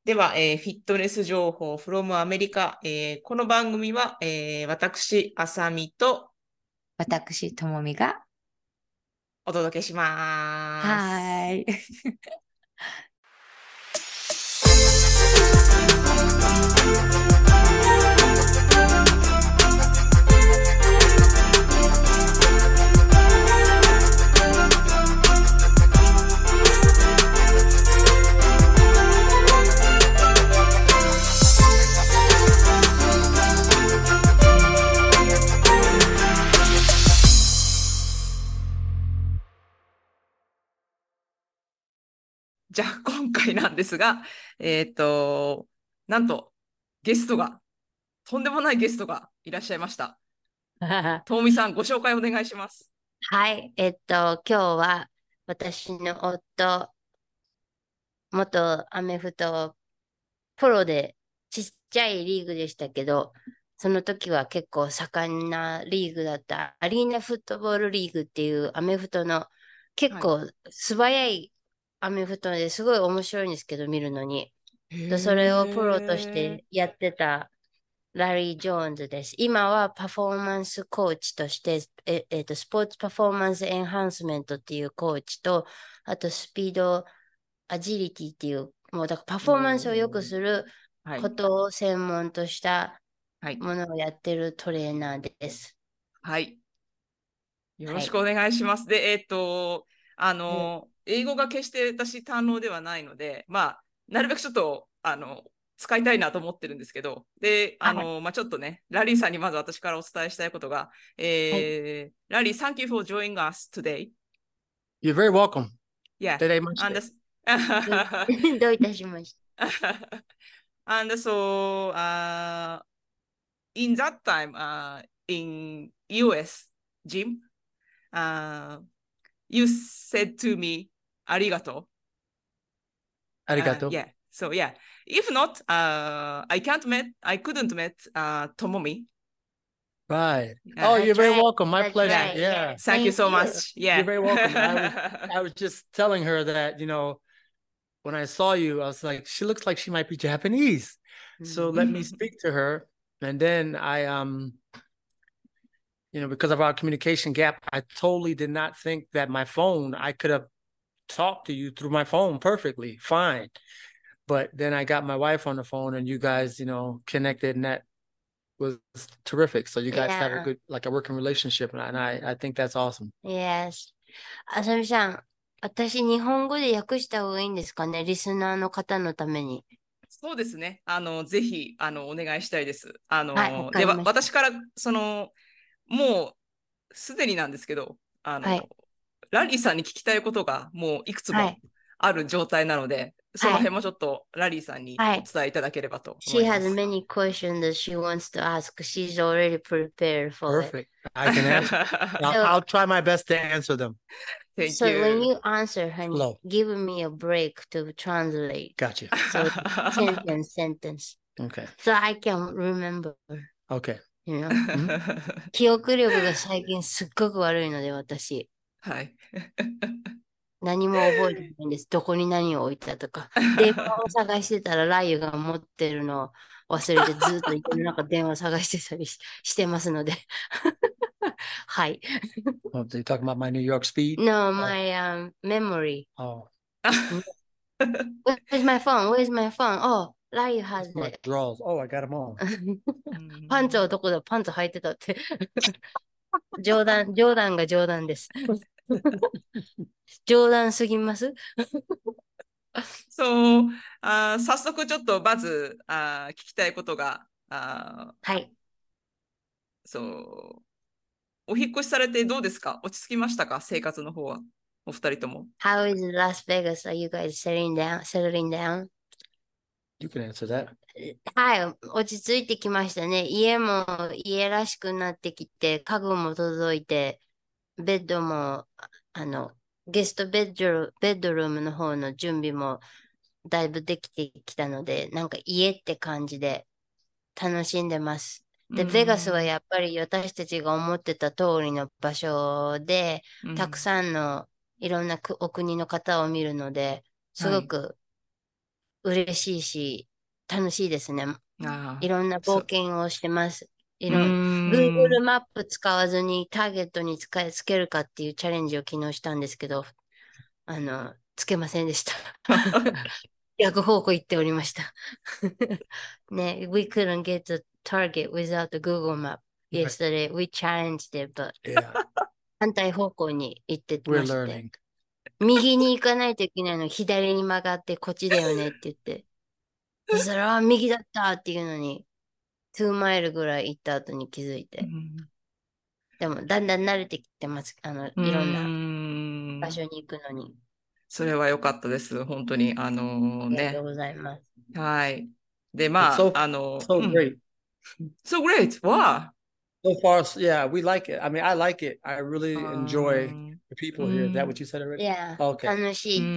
では、フィットネス情報 from アメリカ。この番組は、私、あさみと私、ともみが、 お届けします。 はーい。 じゃあ、今回なんですが、えっと、なんと、ゲストが、とんでもないゲストがいらっしゃいました。ともみさん、ご紹介お願いします。 はい。今日は私の夫、元アメフトプロでちっちゃいリーグでしたけど、その時は結構盛んなリーグだったアリーナフットボールリーグっていうアメフトの結はい。 構素早いアメフトですごい面白いんですけど、見るのに。でそれをプロとしへー。 てやってたラリー・ジョーンズです。今はパフォーマンスコーチとして、スポーツパフォーマンスエンハンスメントっていうコーチと、あとスピードアジリティっていう、もうだからパフォーマンスを良くおー。 するはい。 ことを専門としたはい。 ものをやってるトレーナーです。 はい。よろはい。 しくお願いします。で、 うん英語が決して私堪能ではないので、まあ、なるべくちょっと、使いたいなと思ってるんですけど、で、 はい。 まあ、ちょっとね、ラリーさんにまず私からお伝えしたいことが、 はい。 ラリー、thank you for joining us today. You're very welcome. Yeah, 出れまし and て。 どうどういたしまし and so in that time in US gym, uh, you said to me, arigato. ありがとう。 Yeah. So yeah. If not, I couldn't met Tomomi. Right. Yeah. Oh, た。 you're That's very right. welcome. My That's pleasure. Yeah. right. Yeah. Yes. Thank you Thank so you. much. You're Yeah. very welcome. I was just telling her that, when I saw you, I was like, she looks like she might be Japanese. So let me speak to her. And then because of our communication gap, I totally did not think that I could have talked to you through my phone perfectly, fine. But then I got my wife on the phone and you guys, connected, and that was terrific. So you guys have a Yeah. good, like a working relationship, and I think that's awesome. Yes. あさみさん、私日本語で訳した方がいいんですかね、リスナーの方のために。 そうですね。ぜひ、お願いしたいです。 はい、わかで、 りました。 私から、もう、すでになんですけど、 はい、 ラリーさんに聞きたいことがもういくつもはい、 ある状態なので、そのはい、 辺もちょっとラリーさんにはい。 お伝えいただければと思 She いま has す。 many questions that she wants to ask. She's already prepared for it. Perfect. I can answer. I'll, So, I'll try my best to answer them. Thank so when you. you answer, honey, Flow. give me a break to translate. Gotcha. So sentence. Okay. So I can remember, Okay. you know. Mhm. 記憶力が最近すっごく悪いので、私。 はい。 何も覚えてないんです。どこに何を置いたとか。電話を探してたら、ライユが持ってるのを忘れて、ずっと家の中電話探してたりしてますので。はい。 Oh, so you're talking about my New York speed? No, Oh. my memory. Oh. Where's my phone? Where's my phone? Oh, ライユ has It's my it. drawers. Oh, I got them on. パンツはどこだパンツ履いてたって。冗談が冗談です。冗談すぎます。 そう、早速ちょっとまず聞きたいことが、 はい。 そう、お引っ越しされてどうですか？落ち着きましたか？生活の方は。お二人とも。 How is Las Vegas? Are you guys settling down? You can answer that. はい、落ち着いてきましたね。家も家らしくなってきて、家具も届いて、ベッドも、あの、ゲストベッドルームの方の準備もだいぶできてきたので、なんか家って感じで楽しんでます。 うで、ベガスはん。 やっぱり私たちが思ってた通りの場所で、たくうん。 さんのいろんなお国の方を見るので、すはい。 ごく嬉しいし、楽しいですね。 あいろんな冒そ険をしてます。 うー Google ん。 マップ使わずにターゲットにつけるかっていうチャレンジを昨日したんですけど、つけませんでした。逆方向行っておりました。ね、we couldn't get the target without the Google map Right. yesterday. We challenged it, but Yeah, 反対方向に行ってま we're して、 learning. 右に行かないといけないの、左に曲がってこっちだよねって言って、そしたら、右だったっていうのに、2マイルぐらい行った後に気づいて、でもだんだん慣れてきてます。 ういろんなーん。 場所に行くのに。 それは良かったです。本当に。 ありがとうございます。 はい。で、 It's ま so あ、 so great. So great! わ So far, yeah, we like it. I mean, I like it. I あ。 really enjoy the う people ー here. Is that ん。 what you said い already? や、 Okay. 楽しいって、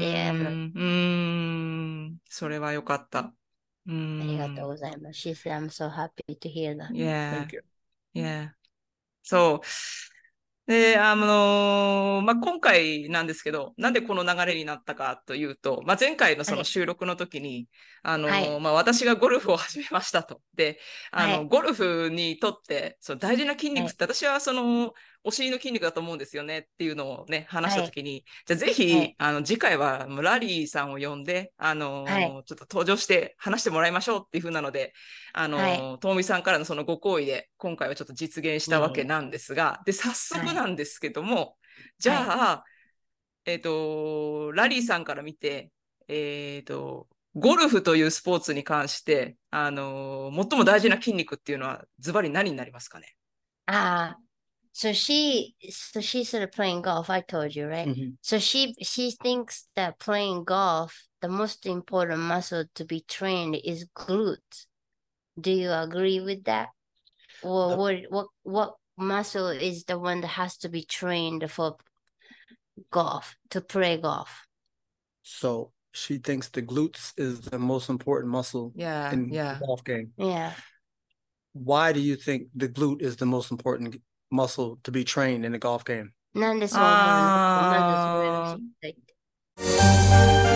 それは良かった。 ありがとうございます。She said, I'm so happy to hear that. Yeah, Thank you. yeah. そう。で、まあ、今回なんですけど、なんでこの流れになったかというと、まあ、前回のそのはい。 収録の時に、 はい。 まあ、私がゴルフを始めましたと。で、 はい。 ゴルフにとって、その大事な筋はい。 肉って、私はその、お尻の筋肉だと思うんですよねっていうのをね、話しはい。 た時に、じゃあぜひ、 はい。 次回はもうラリーさんを呼んで、 はい。 ちょっと登場して話してもらいましょうっていう風なので、 はい。 ともみさんからのそのご好意で、今回はちょっと実現したわけなんですが、で、早速はい。 なんですけども、じはい。 ゃあ、ラリーさんから見て、ゴルフというスポーツに関して、最も大事な筋肉っていうのは、ズバリ何になりますかね。 ああ、so she started playing golf. I told you, right? Mhm. So she thinks that playing golf, the most important muscle to be trained is glutes. Do you agree with that? Or what muscle is the one that has to be trained for golf, to play golf? So she thinks the glutes is the most important muscle Yeah, in the yeah. golf game. Yeah. Why do you think the glute is the most important muscle to be trained in the golf game? なんでそう思うの？まずそれを知あーりたいって。